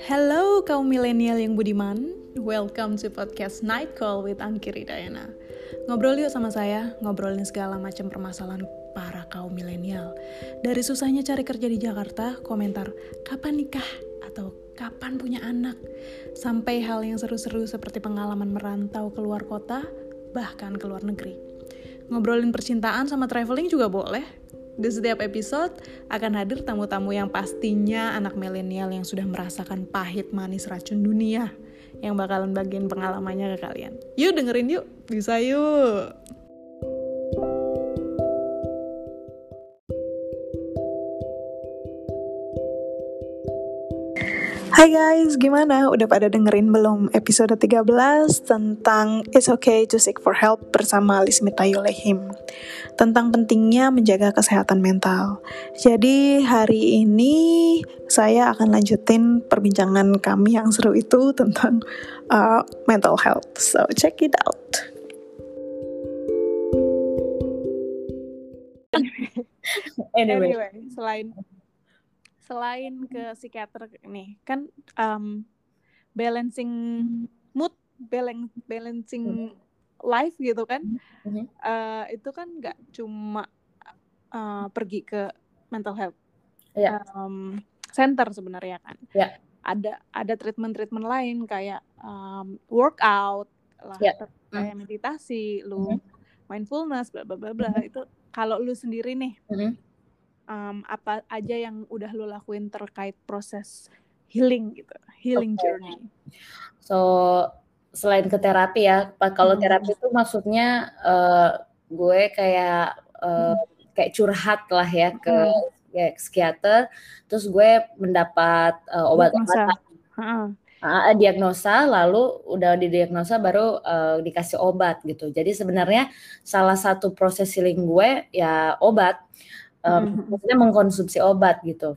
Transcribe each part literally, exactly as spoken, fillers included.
Hello kaum milenial yang budiman, welcome to podcast Night Call with Angki Ridayana. Ngobrol yuk sama saya, ngobrolin segala macam permasalahan para kaum milenial. Dari susahnya cari kerja di Jakarta, komentar kapan nikah atau kapan punya anak, sampai hal yang seru-seru seperti pengalaman merantau keluar kota, bahkan ke luar negeri. Ngobrolin percintaan sama traveling juga boleh. Di setiap episode akan hadir tamu-tamu yang pastinya anak milenial yang sudah merasakan pahit manis racun dunia, yang bakalan bagiin pengalamannya ke kalian. Yuk dengerin yuk, bisa yuk. Hai guys, gimana? Udah pada dengerin belum episode tiga belas tentang It's Okay to Seek for Help bersama Lismita Yulehim, tentang pentingnya menjaga kesehatan mental. Jadi hari ini saya akan lanjutin perbincangan kami yang seru itu tentang uh, mental health. So check it out. Anyway, anyway selain Selain ke psikiater nih, kan um, balancing mood, balance, balancing life gitu kan, mm-hmm. uh, itu kan nggak cuma uh, pergi ke mental health yeah. um, center sebenarnya kan. Yeah. Ada ada treatment-treatment lain kayak um, workout lah, yeah. kayak mm. meditasi, lu mm-hmm. mindfulness, bla bla bla bla. Mm-hmm. Itu kalau lu sendiri nih. Mm-hmm. Um, apa aja yang udah lo lakuin terkait proses healing gitu, healing okay. journey. So selain ke terapi ya, kalau hmm. terapi itu maksudnya uh, gue kayak uh, hmm. kayak curhat lah ya ke hmm. ya, psikiater, terus gue mendapat uh, obat-obatan, hmm. uh, diagnosa, lalu udah didiagnosa baru uh, dikasih obat gitu. Jadi sebenarnya salah satu proses healing gue ya obat. Um, mm-hmm. Maksudnya mengkonsumsi obat gitu.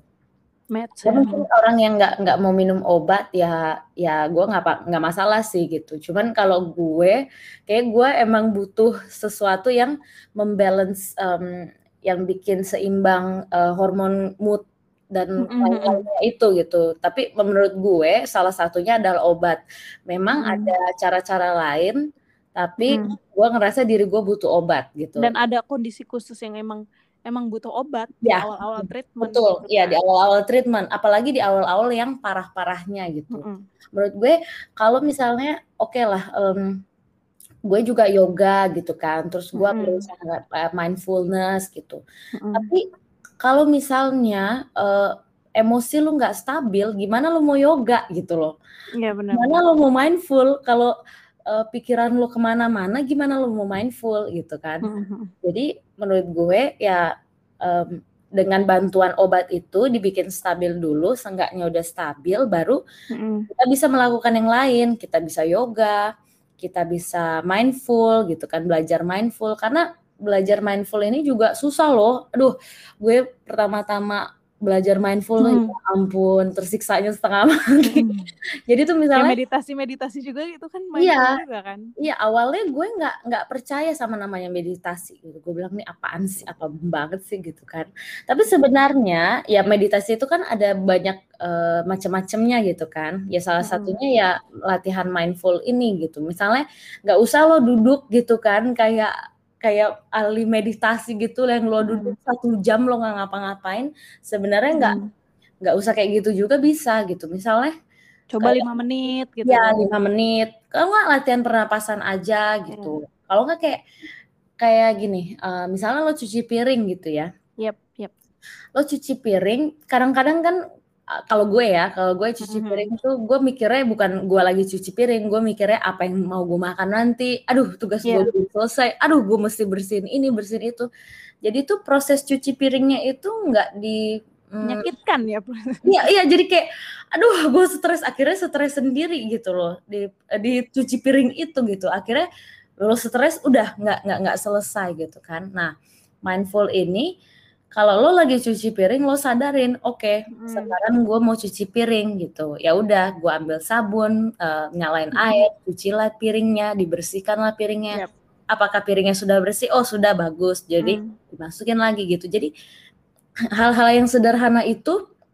Ya, mungkin orang yang nggak nggak mau minum obat ya ya gue nggak nggak masalah sih gitu. Cuman kalau gue kayak gue emang butuh sesuatu yang membalance, um, yang bikin seimbang uh, hormon mood dan lain-lainnya mm-hmm. itu gitu. Tapi menurut gue salah satunya adalah obat. Memang mm-hmm. ada cara-cara lain, tapi mm-hmm. gue ngerasa diri gue butuh obat gitu. Dan ada kondisi khusus yang emang emang butuh obat ya, di awal-awal treatment. Betul, gitu, ya kan? Di awal-awal treatment, apalagi di awal-awal yang parah-parahnya gitu. Mm-hmm. Menurut gue, kalau misalnya, oke okay lah, um, gue juga yoga gitu kan, terus gue mm-hmm. berusaha uh, mindfulness gitu. Mm-hmm. Tapi kalau misalnya uh, emosi lu nggak stabil, gimana lu mau yoga gitu loh? Iya benar. Gimana lu mau mindful kalau uh, pikiran lu kemana-mana, gimana lu mau mindful gitu kan? Mm-hmm. Jadi menurut gue ya um, dengan bantuan obat itu dibikin stabil dulu, seenggaknya udah stabil baru mm-hmm. kita bisa melakukan yang lain, kita bisa yoga, kita bisa mindful gitu kan, belajar mindful, karena belajar mindful ini juga susah loh. Aduh, gue pertama-tama belajar mindful, hmm. ya ampun, tersiksanya setengah mati. Hmm. Jadi tuh misalnya ya, meditasi-meditasi juga itu kan mindful iya, juga kan. Iya, awalnya gue nggak nggak percaya sama namanya meditasi gitu. Gue bilang nih apaan sih, apa banget sih gitu kan. Tapi sebenarnya ya meditasi itu kan ada banyak uh, macam-macamnya gitu kan. Ya salah hmm. satunya ya latihan mindful ini gitu. Misalnya nggak usah lo duduk gitu kan, kayak kayak ahli meditasi gitu yang lo duduk hmm. satu jam lo nggak ngapa-ngapain, sebenarnya nggak hmm. nggak usah kayak gitu juga bisa gitu. Misalnya coba lima menit gitu ya lima menit, kalau nggak latihan pernapasan aja gitu. hmm. Kalau nggak kayak kayak gini, uh, misalnya lo cuci piring gitu ya. Yep, yep. Lo cuci piring, kadang-kadang kan kalau gue ya, kalau gue cuci mm-hmm. piring tuh gue mikirnya bukan gue lagi cuci piring, gue mikirnya apa yang mau gue makan nanti. Aduh, tugas yeah. gue udah selesai. Aduh, gue mesti bersihin ini, bersihin itu. Jadi tuh proses cuci piringnya itu nggak di menyakitkan ya. Iya, iya jadi kayak aduh, gue stres, akhirnya stres sendiri gitu loh di di cuci piring itu gitu. Akhirnya lo stres udah nggak nggak nggak selesai gitu kan. Nah, mindful ini kalau lo lagi cuci piring, lo sadarin, oke, okay, hmm. sekarang gue mau cuci piring gitu. Ya udah, gue ambil sabun, uh, nyalain hmm. air, cucilah piringnya, dibersihkanlah piringnya. Yep. Apakah piringnya sudah bersih? Oh sudah, bagus. Jadi hmm. dimasukin lagi gitu. Jadi hal-hal yang sederhana itu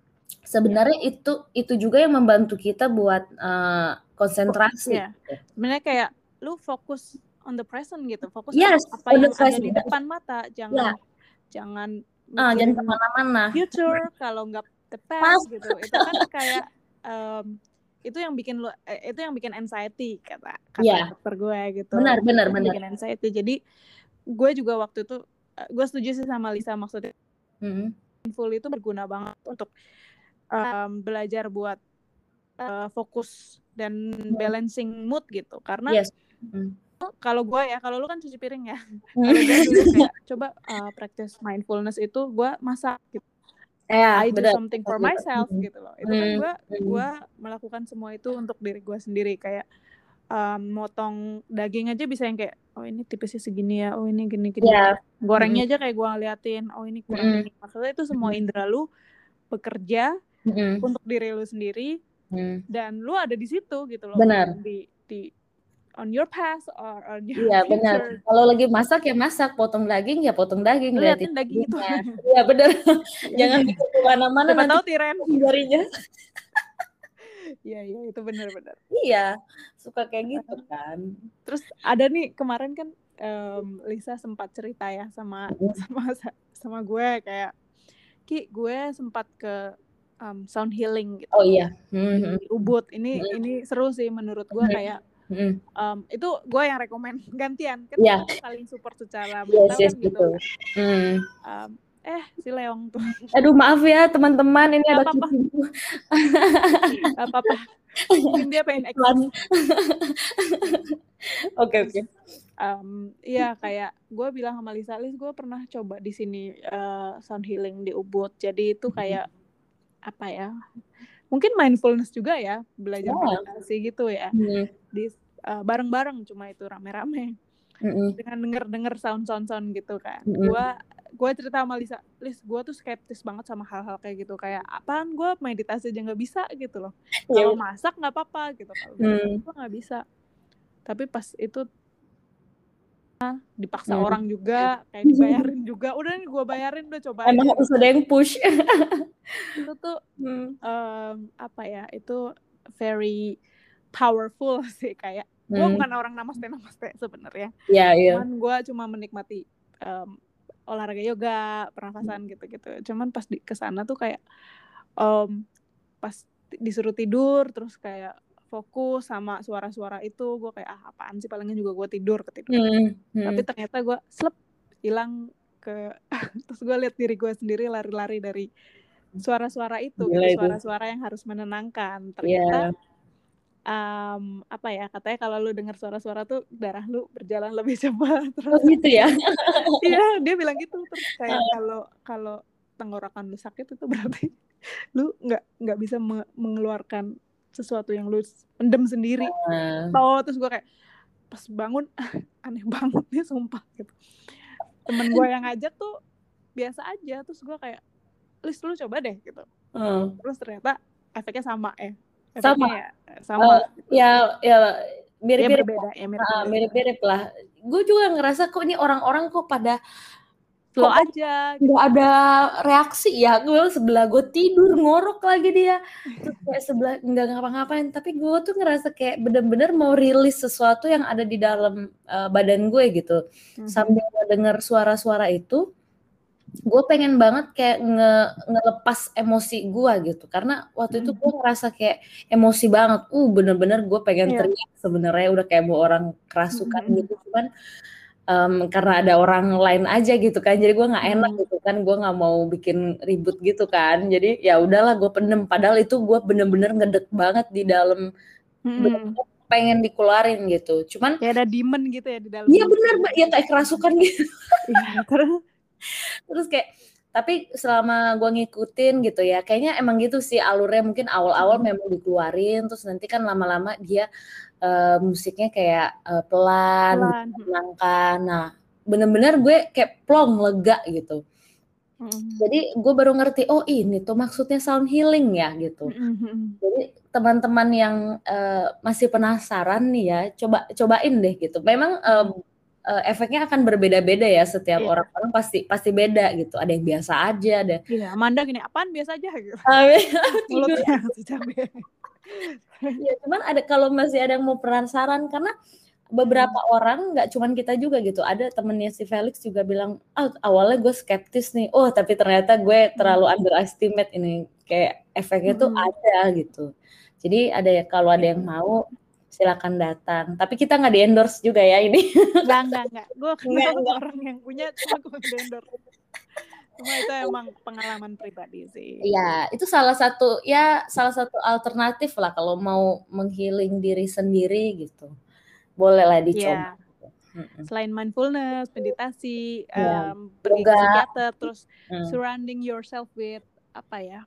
sebenarnya itu itu juga yang membantu kita buat uh, konsentrasi. Iya, sebenarnya kayak lu fokus on the present gitu, fokus Yes, apa on the yang ada present. di depan mata, jangan Ya. jangan Ah, jangan mikirin kemana-mana. future kalau nggak the Pas. past gitu. Itu kan kayak um, itu yang bikin lu eh, itu yang bikin anxiety kata kata Iya. dokter gue gitu. Benar, benar, Itu yang benar. bikin anxiety. Jadi gue juga waktu itu eh, gue setuju sih sama Lisa, maksudnya Hmm. mindful itu berguna banget untuk um, belajar buat uh, fokus dan balancing mood gitu, karena Yes. Hmm. kalau gue ya, kalau lu kan cuci piring ya, Hmm. kalau gue dulu kayak coba uh, practice mindfulness itu gue masak gitu. Ya, I do benar. something for myself Hmm. gitu loh. Itu kan gue Hmm. gue melakukan semua itu untuk diri gue sendiri, kayak um, motong daging aja bisa yang kayak oh ini tipisnya segini ya, oh ini gini gini. Ya. Gorengnya Hmm. aja kayak gue ngeliatin, oh ini kurang Hmm. ini. Maksudnya itu semua indera lu bekerja Hmm. untuk diri lu sendiri, Hmm. dan lu ada di situ gitu loh. Benar. Di di on your past or on your Iya, benar. future. Kalau lagi masak ya masak, potong daging ya potong daging, Liatin daging itu. Iya, benar. Jangan mikir kemana-mana Siapa nanti tahu tiren jarinya. Iya, iya, itu benar-benar. Iya, suka kayak gitu kan. Terus ada nih kemarin kan um, Lisa sempat cerita ya sama sama sama gue kayak, Ki, gue sempat ke um, sound healing gitu. Oh iya. Hmm. Di Ubud. Ini Hmm. ini seru sih menurut gue, kayak Hmm. um, itu gue yang rekomen gantian kan, yeah. kita saling support secara Yes, mental yes, kan gitu. Hmm. Um, eh si Leong tuh. Aduh maaf ya teman-teman, ini Gak ada apa-apa. Gak apa-apa. Mungkin dia pengen eksis. Oke oke. Um, iya kayak gue bilang sama Lisa, Lis gue pernah coba di sini uh, sound healing di Ubud. Jadi itu kayak apa ya? Mungkin mindfulness juga ya, belajar Yeah. meditasi gitu ya. Hmm. Di uh, bareng-bareng, cuma itu rame-rame. Mm-mm. Dengan denger-denger sound-sound gitu kan. Mm-mm. Gue gue cerita sama Lisa, Lis, gue tuh skeptis banget sama hal-hal kayak gitu, kayak apaan gue meditasi aja nggak bisa gitu loh. Kalau Yeah. masak nggak apa-apa gitu, kalau Hmm. gue nggak bisa. Tapi pas itu dipaksa Hmm. orang juga, kayak dibayarin juga. Udah nih gue bayarin, udah coba Emang aja. harus ada yang push. Itu tuh Hmm. um, apa ya? Itu very powerful sih, kayak gue Hmm. bukan orang namaste namaste sebenarnya. Iya, iya. Cuman gue cuma menikmati um, olahraga yoga, pernafasan gitu-gitu. Cuman pas di kesana tuh kayak um, pas disuruh tidur terus kayak fokus sama suara-suara itu, gue kayak ah apaan sih, palingnya juga gue tidur ketiduran. Hmm. Hmm. Tapi ternyata gue slep hilang ke terus gue lihat diri gue sendiri lari-lari dari suara-suara itu. Gila gitu, itu. suara-suara yang harus menenangkan. Ternyata Yeah. um, apa ya, katanya kalau lu dengar suara-suara tuh darah lu berjalan lebih cepat. Terus Oh gitu ya. iya, dia bilang gitu. Terus kayak kalau kalau tenggorokan lu sakit itu berarti lu nggak nggak bisa me- mengeluarkan sesuatu yang lu pendem sendiri. Uh. Oh, terus gue kayak pas bangun aneh banget nih sumpah gitu. Temen gue yang ngajak tuh biasa aja, terus gue kayak Lis lu coba deh gitu. Uh. Terus ternyata efeknya sama ya. Sama. Efeknya ya sama. Uh, gitu. ya ya Ya mirip-mirip berbeda, ya mirip-mirip. uh, mirip-mirip lah. Gue juga ngerasa kok ini orang-orang kok pada slow aja. Nggak ada reaksi ya. Gue sebelah gue tidur ngorok lagi dia. Terus kayak sebelah nggak ngapa-ngapain. Tapi gue tuh ngerasa kayak bener-bener mau rilis sesuatu yang ada di dalam uh, badan gue gitu. Mm-hmm. Sambil denger suara-suara itu, gue pengen banget kayak nge ngelepas emosi gue gitu. Karena waktu mm-hmm. itu gue ngerasa kayak emosi banget. Uh bener-bener gue pengen yeah. teriak sebenarnya, udah kayak mau orang kerasukan mm-hmm. gitu. Cuman Um, karena ada orang lain aja gitu kan, jadi gue nggak enak hmm. gitu kan, gue nggak mau bikin ribut gitu kan, jadi ya udahlah gue pendem. Padahal itu gue bener-bener ngedek banget di dalam, hmm. bener-bener pengen dikeluarin gitu. Cuman kayak ada demon gitu ya di dalam. Iya bener, ya kayak kerasukan gitu. Iya, terus terus kayak tapi selama gue ngikutin gitu ya, kayaknya emang gitu sih alurnya. Mungkin awal-awal hmm. memang dikeluarin, terus nanti kan lama-lama dia Uh, musiknya kayak uh, pelan, pelan. menenangkan. Nah, bener-bener gue kayak plong, lega gitu. Mm-hmm. Jadi gue baru ngerti, oh ini tuh maksudnya sound healing ya gitu. Mm-hmm. Jadi teman-teman yang uh, masih penasaran nih ya, coba cobain deh gitu. Memang uh, uh, efeknya akan berbeda-beda ya setiap Iya. orang. Orang pasti pasti beda gitu. Ada yang biasa aja, ada. Iya, Amanda gini, apaan biasa aja gitu. Tidur. Mulutnya si cabe. Ya, cuman ada kalau masih ada yang mau penasaran karena beberapa hmm. orang, nggak cuman kita juga gitu, ada temennya si Felix juga bilang, ah awalnya gue skeptis nih, oh tapi ternyata gue terlalu hmm. underestimate ini, kayak efeknya hmm. tuh ada gitu. Jadi ada ya, kalau ada yang mau silakan datang, tapi kita nggak di endorse juga ya ini. Nggak nggak nggak, gue kenal orang yang punya, cuma gue di endorse. Cuma itu emang pengalaman pribadi sih. Iya, itu salah satu ya salah satu alternatif lah kalau mau menghealing diri sendiri gitu. Bolehlah dicoba. Yeah. Selain mindfulness, meditasi, yeah. um, pergi ke psikiater, terus hmm. surrounding yourself with apa ya,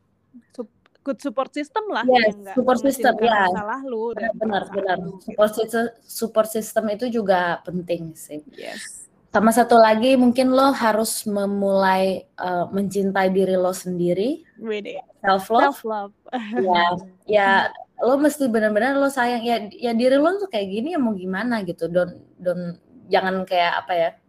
good support system lah, yes, yang nggak support system ya. Masalah lu dan benar benar. Lu, support gitu. system support system itu juga penting sih. Yes. Sama satu lagi mungkin lo harus memulai uh, mencintai diri lo sendiri. Really? Self love. Self love. ya, ya lo mesti benar-benar lo sayang ya, ya diri lo tuh kayak gini ya mau gimana gitu. Don don jangan kayak apa ya,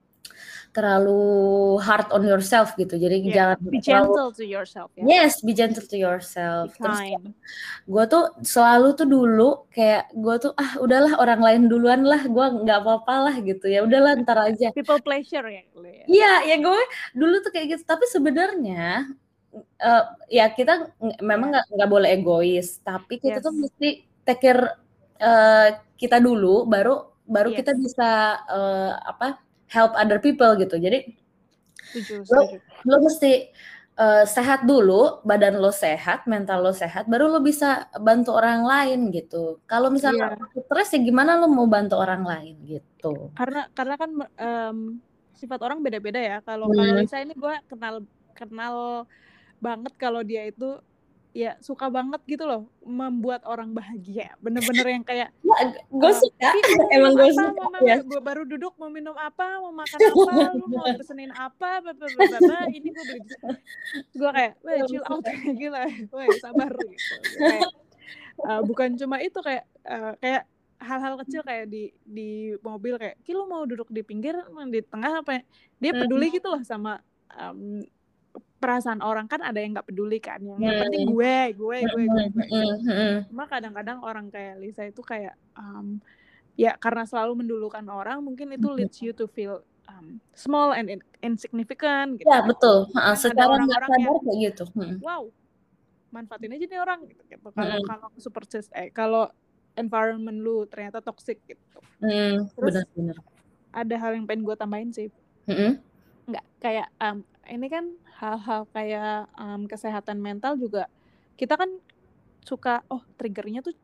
terlalu hard on yourself gitu. Jadi yeah, jangan be terlalu, gentle to yourself ya. Yes, be gentle to yourself. Be kind. Gue tuh selalu tuh dulu kayak gue tuh ah udahlah orang lain duluan lah, gue nggak apa-apa lah gitu ya. Udahlah ntar aja. People pleasure ya. Iya, ya gue dulu tuh kayak gitu. Tapi sebenarnya uh, ya kita memang nggak yeah. nggak boleh egois, tapi kita yes. tuh mesti take care uh, kita dulu, baru baru yes. kita bisa uh, apa help other people gitu. Jadi setuju, lo setuju. lo mesti uh, sehat dulu, badan lo sehat, mental lo sehat, baru lo bisa bantu orang lain gitu. Kalau misalnya yeah. stres ya gimana lo mau bantu orang lain gitu. Karena karena kan um, sifat orang beda-beda ya. Kalau hmm. kalau Lisa ini gue kenal kenal banget kalau dia itu ya suka banget gitu loh membuat orang bahagia, bener-bener yang kayak ya, gue suka uh, emang gue suka ya. Gue baru duduk mau minum apa, mau makan apa, lu mau pesenin apa, baba ini gue beli, gue kayak, weh chill out gila, weh sabar gitu, kayak uh, bukan cuma itu kayak uh, kayak hal-hal kecil kayak di di mobil kayak, ki lu mau duduk di pinggir, di tengah apa, dia peduli gitu loh sama um, perasaan orang. Kan ada yang nggak peduli kan, yang, yang penting gue gue gue gue, gue. Cuma kadang-kadang orang kayak Lisa itu kayak um, ya karena selalu mendulukan orang, mungkin itu leads you to feel um, small and insignificant gitu. Ya betul, kan secara nggak sadar kayak gitu. Hmm. Wow, manfaatin aja nih orang gitu. gitu. Kalau hmm. kalau super eh kalau environment lu ternyata toxic gitu. Hmm, Terus benar-benar. Ada hal yang pengen gue tambahin sih. Hmm. Nggak kayak um, ini kan hal-hal kayak um, kesehatan mental juga kita kan suka oh triggernya tuh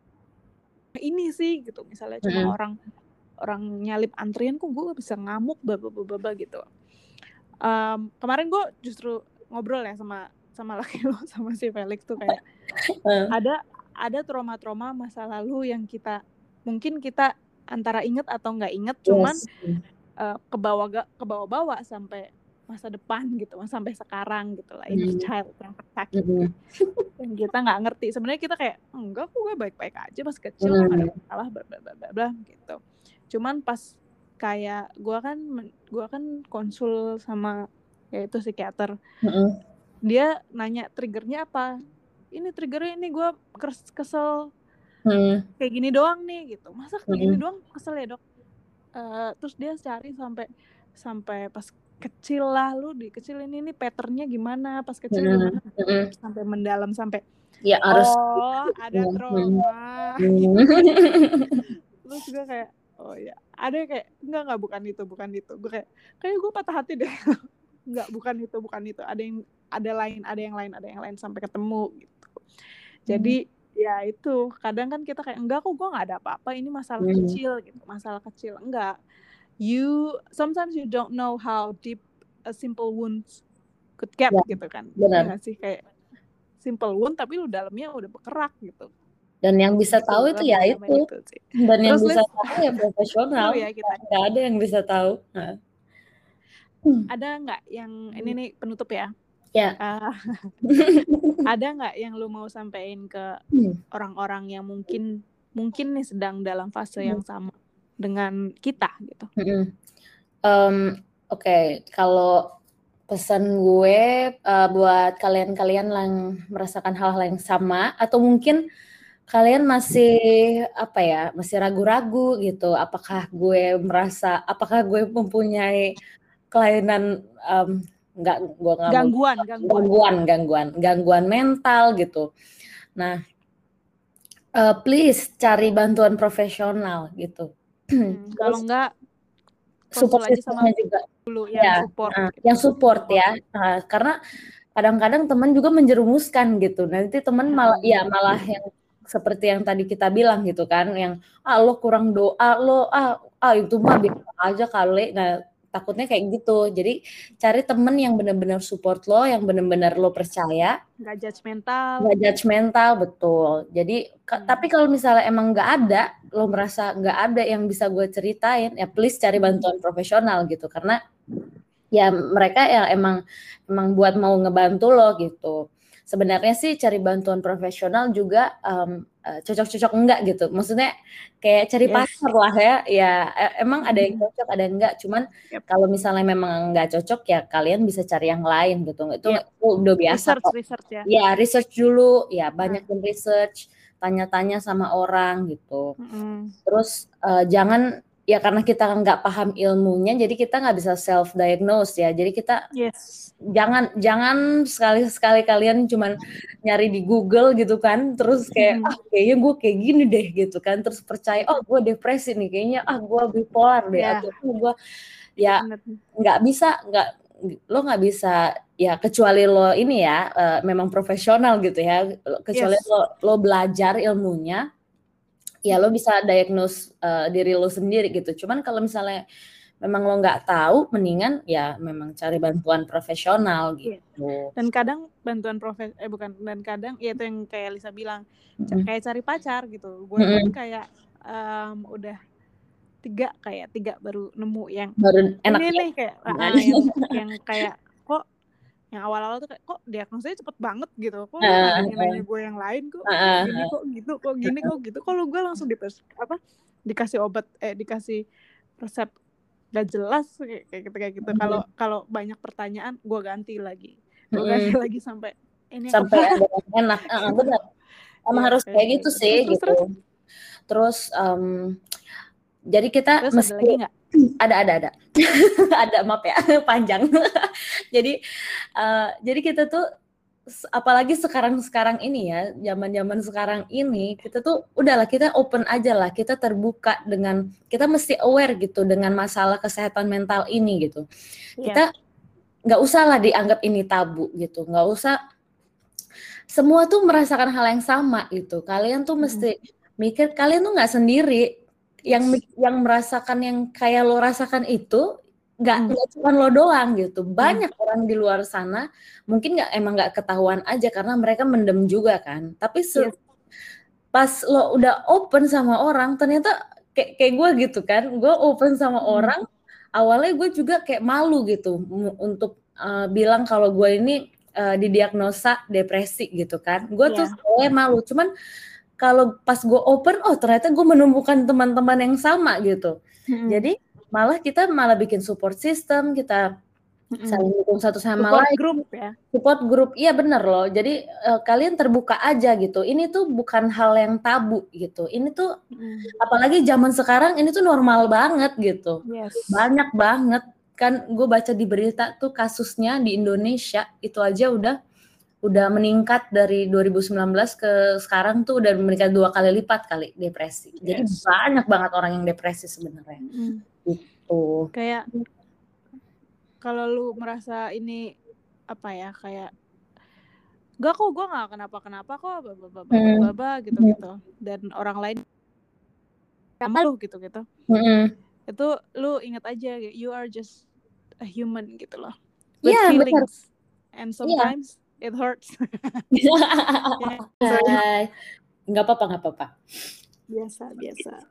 ini sih gitu, misalnya cuma hmm. orang orang nyalip antrian kok gue bisa ngamuk baba-baba gitu. Um, kemarin gue justru ngobrol ya sama sama laki lo sama si Felix tuh kayak hmm. ada ada trauma-trauma masa lalu yang kita mungkin kita antara inget atau nggak inget, cuman yes. uh, kebawa kebawa-bawa sampai masa depan gitu, sampai sekarang gitu lah, inner child yang sakit mm-hmm. dan kita nggak ngerti sebenarnya, kita kayak enggak kok gue baik-baik aja pas kecil, nggak mm-hmm. ada masalah bla bla bla bla gitu. Cuman pas kayak gue kan gue kan konsul sama yaitu psikiater, mm-hmm. dia nanya triggernya apa, ini triggernya ini gue kesel mm-hmm. kayak gini doang nih gitu, masa kayak mm-hmm. gini doang kesel ya dok, uh, terus dia cari sampai sampai pas kecil lah, lu di kecil ini nih patternnya gimana pas kecil mm-hmm. gimana mm-hmm. sampai mendalam sampai ya harus oh ada trauma mm-hmm. terus gue kayak oh ya ada kayak enggak enggak bukan itu bukan itu gue kayak kayak gue patah hati deh enggak bukan itu bukan itu ada yang ada lain ada yang lain ada yang lain sampai ketemu gitu. Jadi mm-hmm. ya itu kadang kan kita kayak enggak kok gue nggak ada apa-apa, ini masalah mm-hmm. kecil gitu, masalah kecil. Enggak, you sometimes you don't know how deep a simple wound could get ya, gitu kan. Benar. Ya, sih kayak simple wound tapi lu dalamnya udah berkerak gitu. Dan yang bisa gitu, tahu itu ya itu. itu Dan Terus yang bisa les, tahu ya profesional. Ya kita. Nggak ada yang bisa tahu. Nah. Ada nggak yang ini nih penutup ya? Ya. Uh, ada nggak yang lu mau sampaikan ke hmm. orang-orang yang mungkin mungkin nih sedang dalam fase hmm. yang sama? dengan kita gitu. Mm-mm. Um, Oke, okay. Kalau pesan gue uh, buat kalian-kalian yang merasakan hal-hal yang sama atau mungkin kalian masih apa ya, masih ragu-ragu gitu, apakah gue merasa, apakah gue mempunyai kelainan um, nggak, gue nggak mau Gangguan, gangguan. gangguan, gangguan, gangguan mental gitu. Nah, uh, please cari bantuan profesional gitu. Hmm, kalau enggak Support konsul aja sama systemnya juga dulu yang ya, support nah, gitu. yang support ya, nah, karena kadang-kadang teman juga menjerumuskan gitu, nanti teman malah Hmm. ya malah yang seperti yang tadi kita bilang gitu kan, yang ah lo kurang doa lo, ah ah itu mah biasa aja kali. Nah takutnya kayak gitu, jadi cari temen yang benar-benar support lo, yang benar-benar lo percaya, nggak judgmental, nggak judgmental, betul. Jadi hmm. tapi kalau misalnya emang nggak ada, lo merasa nggak ada yang bisa gue ceritain, ya please cari bantuan profesional gitu, karena ya mereka ya emang emang buat mau ngebantu lo gitu. Sebenarnya sih cari bantuan profesional juga um, uh, cocok-cocok enggak gitu. Maksudnya kayak cari yes. pacar lah ya. Ya emang ada yang cocok, ada yang enggak. Cuman yep. kalau misalnya memang enggak cocok ya kalian bisa cari yang lain gitu. Itu, yep. itu udah biasa research, kok. Research ya. Ya research dulu. Ya banyak yang research, tanya-tanya sama orang gitu. Mm-hmm. Terus uh, jangan ya karena kita nggak paham ilmunya, jadi kita nggak bisa self diagnose ya. Jadi kita yes. jangan jangan sekali sekali kalian cuman nyari di Google gitu kan, terus kayak ah kayaknya gue kayak gini deh gitu kan, terus percaya oh gue depresi nih kayaknya, ah gue bipolar deh, yeah. atau gue ya nggak bisa, nggak lo nggak bisa ya kecuali lo ini ya uh, memang profesional gitu ya, kecuali yes. lo lo belajar ilmunya. Ya lo bisa diagnose uh, diri lo sendiri gitu. Cuman kalau misalnya memang lo nggak tahu, mendingan ya memang cari bantuan profesional gitu. Yeah. Dan kadang bantuan profes eh bukan dan kadang ya itu yang kayak Lisa bilang, mm-hmm. kayak cari pacar gitu. Gue mm-hmm. pun kayak um, udah tiga kayak tiga baru nemu yang baru enak ini ya? nih kayak ah, yang yang kayak kok yang awal-awal tuh kayak kok diagnosanya cepet banget gitu, kok uh, nggak nanya-nanya gue yang lain kok uh, gini kok gitu kok gini kok gitu, kalau gue langsung di apa dikasih obat eh dikasih resep gak jelas kayak gitu kayak gitu. Kalau mm-hmm. kalau banyak pertanyaan gue ganti lagi, gue mm-hmm. ganti lagi sampai ini sampai ada yang enak, uh, benar. Emang ya, harus kayak, kayak gitu, gitu sih terus, gitu. Terus, terus um, jadi kita terus mesti ada lagi nggak? Ada ada ada ada maaf ya panjang. jadi uh, jadi kita tuh apalagi sekarang sekarang ini ya, zaman zaman sekarang ini kita tuh udahlah kita open aja lah, kita terbuka dengan kita mesti aware gitu dengan masalah kesehatan mental ini gitu. Yeah. Kita nggak usah lah dianggap ini tabu gitu, nggak usah. Semua tuh merasakan hal yang sama gitu. Kalian tuh mesti mm-hmm. mikir kalian tuh nggak sendiri. Yang yang merasakan yang kayak lo rasakan itu nggak nggak hmm. cuma lo doang gitu, banyak hmm. orang di luar sana mungkin nggak emang nggak ketahuan aja karena mereka mendem juga kan, tapi se- yes. pas lo udah open sama orang ternyata kayak kayak gue gitu kan, gue open sama hmm. orang awalnya gue juga kayak malu gitu untuk uh, bilang kalau gue ini uh, didiagnosa depresi gitu kan, gue yeah. tuh awalnya malu, cuman kalau pas gue open, oh ternyata gue menemukan teman-teman yang sama gitu. Hmm. Jadi malah kita malah bikin support system, kita hmm. saling dukung satu sama support lain. Support group ya? Support group, iya bener loh. Jadi uh, kalian terbuka aja gitu. Ini tuh bukan hal yang tabu gitu. Ini tuh hmm. apalagi zaman sekarang ini tuh normal banget gitu. Yes. Banyak banget. Kan gue baca di berita tuh kasusnya di Indonesia itu aja udah udah meningkat dari dua ribu sembilan belas ke sekarang tuh udah meningkat dua kali lipat kali depresi. Yes. Jadi banyak banget orang yang depresi sebenarnya. Mm. Gitu. Kayak kalau lu merasa ini apa ya kayak gak kok gue nggak kenapa-kenapa kok baba gitu-gitu dan orang lain sama lu gitu-gitu. Mm. Itu lu ingat aja you are just a human gitu loh. With yeah, feelings bener. And sometimes yeah. It hurts. yeah. Nggak apa-apa, nggak apa-apa. Biasa, biasa.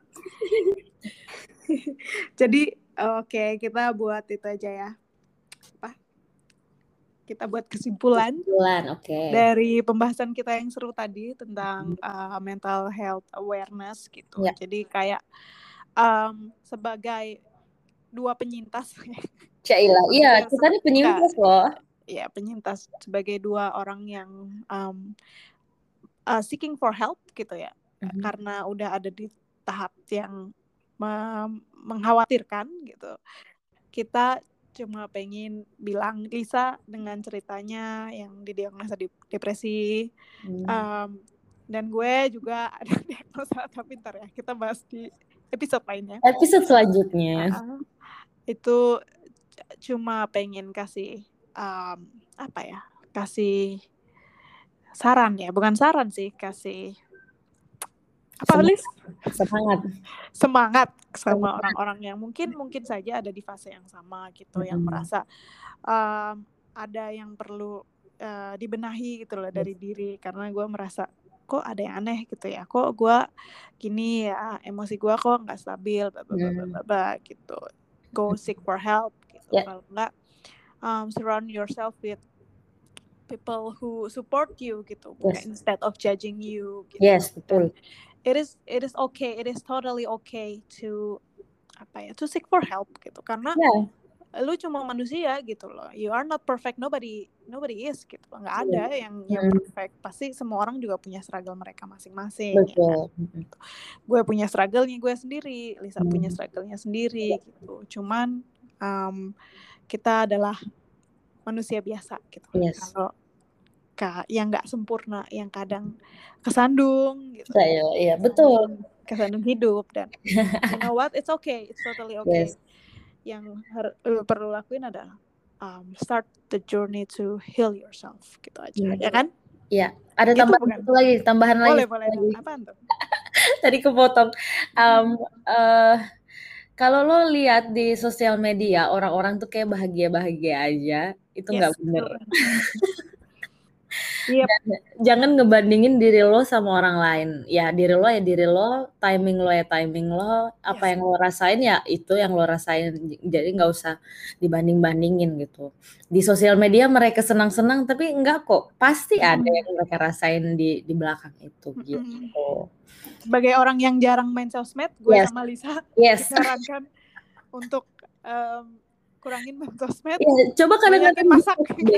Jadi, oke, okay, kita buat itu aja ya. Apa? Kita buat kesimpulan. Kesimpulan, oke. Okay. Dari pembahasan kita yang seru tadi tentang uh, mental health awareness gitu. Yeah. Jadi kayak um, sebagai dua penyintas. Cailah, iya kita nih penyintas loh. Ya, penyintas sebagai dua orang yang um, uh, seeking for help gitu ya, mm-hmm. karena udah ada di tahap yang me- mengkhawatirkan gitu. Kita cuma pengen bilang Lisa dengan ceritanya yang didiagnosa depresi, hmm. um, dan gue juga ada diagnosa tapi ntar ya kita bahas di episode lainnya. Episode selanjutnya. Uh, itu cuma pengen kasih um, apa ya, kasih saran ya, bukan saran sih, kasih apa semangat. Liz? Semangat. Semangat sama orang-orang yang mungkin mungkin saja ada di fase yang sama gitu, mm-hmm. yang merasa um, ada yang perlu uh, dibenahi gitu loh dari yes. diri, karena gue merasa kok ada yang aneh gitu ya, kok gue gini ya, emosi gue kok nggak stabil, bla bla bla bla gitu. Go seek for help gitu. Yeah. Kalau nggak um, surround yourself with people who support you gitu, yes. instead of judging you gitu. Yes, betul. It is it is okay, it is totally okay to apa ya, to seek for help gitu, karena yeah. lu cuma manusia gitu loh. You are not perfect, nobody nobody is gitu loh. Nggak ada yeah. yang yang perfect. Pasti semua orang juga punya struggle mereka masing-masing. Betul. Ya kan? Gue punya struggle-nya gue sendiri, Lisa hmm. punya struggle-nya sendiri gitu. Cuman um, kita adalah manusia biasa gitu. Yes. Kalau yang nggak sempurna, yang kadang kesandung gitu. Saya, iya betul. Kesandung hidup, dan you know what, it's okay, it's totally okay. Yes. Yang har- lu perlu lakuin adalah um, start the journey to heal yourself gitu aja, hmm. ya kan? Iya. Ada gitu, tambahan satu lagi, tambahan boleh, lagi. Boleh, boleh. Apaan tuh? Tadi kepotong. Um, uh, kalau lo lihat di sosial media orang-orang tuh kayak bahagia-bahagia aja, itu nggak yes. benar. Yep. Jangan ngebandingin diri lo sama orang lain. Ya diri lo ya diri lo, timing lo ya timing lo, apa yes. yang lo rasain ya itu yang lo rasain. Jadi nggak usah dibanding-bandingin gitu. Di sosial media mereka senang-senang, tapi enggak kok. Pasti mm. ada yang mereka rasain di di belakang itu gitu. Mm. Sebagai orang yang jarang main sosmed, gue yes. sama Lisa yes. sarankan untuk um, kurangin main sosmed. Ya, coba kadang-kadang masak.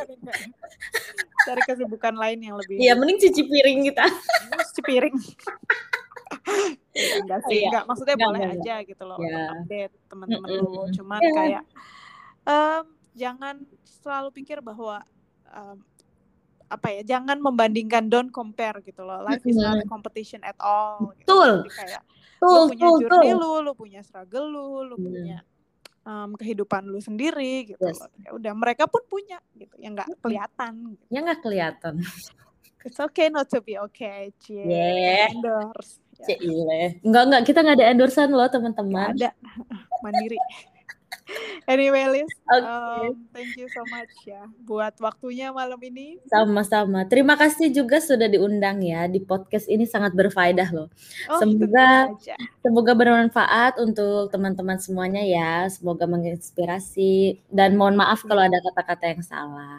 Cari kesibukan lain yang lebih. Iya, mending cuci piring kita. Cuci piring. Ya, enggak sih, iya. enggak. Maksudnya enggak, boleh enggak. aja gitu loh, ya. untuk update teman-teman mm-hmm. lu. Cuman yeah. kayak um, jangan selalu pikir bahwa um, apa ya, jangan membandingkan, don't compare gitu loh. Life mm-hmm. is not a competition at all. Betul. Gitu. Kayak Betul, lu punya betul, journey betul. lu, lu punya struggle lu, lu hmm. punya Um, kehidupan lu sendiri gitu yes. loh. Ya udah, mereka pun punya gitu, yang nggak kelihatan. Gitu. Yang nggak kelihatan. It's okay not to be okay. Cie. Yeah. Endorse. Cie, ya. Enggak enggak, kita nggak ada endorsean loh teman-teman. Nggak ada, mandiri. Anyway, Liz, okay. um, thank you so much ya buat waktunya malam ini. Sama-sama. Terima kasih juga sudah diundang ya di podcast ini, sangat berfaedah loh. Oh, semoga semoga bermanfaat untuk teman-teman semuanya ya. Semoga menginspirasi, dan mohon maaf kalau ada kata-kata yang salah.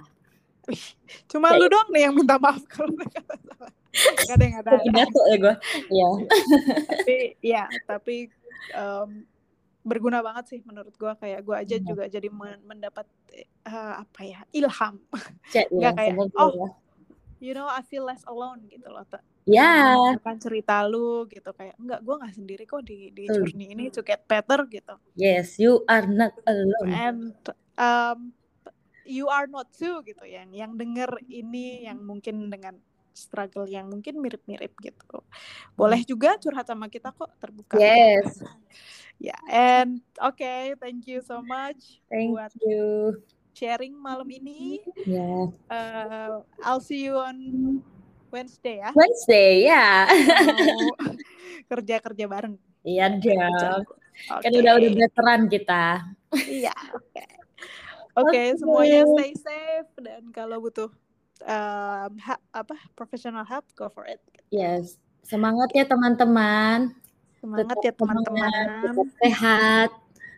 Cuma ya. Lu doang nih yang minta maaf kalau ada kata salah. Gak ada yang ada. Pidato ya gue. Ya. Tapi ya, tapi um, berguna banget sih menurut gue. Kayak gue aja hmm. juga jadi mendapat uh, apa ya, ilham. Cek, nggak ya, kayak oh ya. You know, I feel less alone gitu loh. Ya. Kan cerita lu gitu, kayak enggak, gue nggak sendiri kok di di hmm. journey ini to get better gitu. Yes, you are not alone. And um, you are not too gitu, yang yang denger ini yang mungkin dengan struggle yang mungkin mirip-mirip gitu. Boleh juga curhat sama kita kok, terbuka. Yes. Ya, yeah, and okay, thank you so much thank buat you sharing malam ini. Yeah. Uh, I'll see you on Wednesday ya. Wednesday ya. Yeah. Kerja-kerja bareng. Iya dong. Okay. Kan udah udah veteran kita. Iya. Oke. Okay. Oke, okay, okay. Semuanya stay safe, dan kalau butuh um, ha- apa professional help, go for it. Yes. Semangat ya teman-teman. Semangat tetap ya teman-teman. Tetap sehat.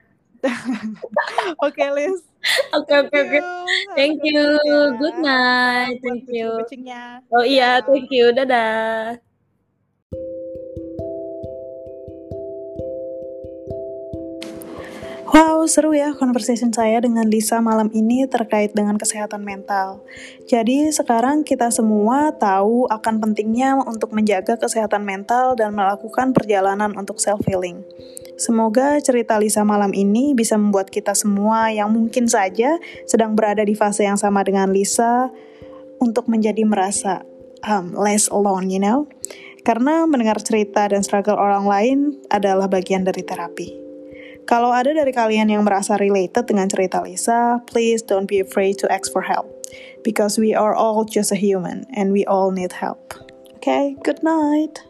Oke, okay, Liz. Oke, oke, oke. Thank you. Good night. Thank you. Oh iya, yeah. Thank you. Dadah. Wow, seru ya conversation saya dengan Lisa malam ini terkait dengan kesehatan mental. Jadi sekarang kita semua tahu akan pentingnya untuk menjaga kesehatan mental dan melakukan perjalanan untuk self-healing. Semoga cerita Lisa malam ini bisa membuat kita semua yang mungkin saja sedang berada di fase yang sama dengan Lisa untuk menjadi merasa um, less alone, you know? Karena mendengar cerita dan struggle orang lain adalah bagian dari terapi. Kalau ada dari kalian yang merasa related dengan cerita Lisa, please don't be afraid to ask for help. Because we are all just a human and we all need help. Okay, good night.